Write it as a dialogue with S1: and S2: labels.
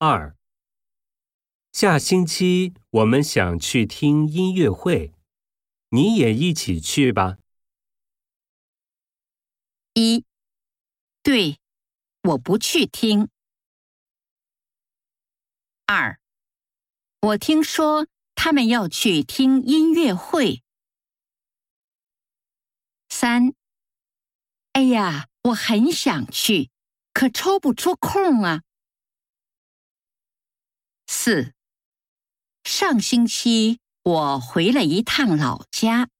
S1: 2. 下星期我们想去听音乐会，你也一起去吧。
S2: 1. 对，我不去听。2. 我听说他们要去听音乐会。3. 哎呀，我很想去，可抽不出空啊。4. 上星期我回了一趟老家。